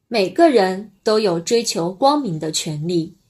每个人都有追求光明的权利。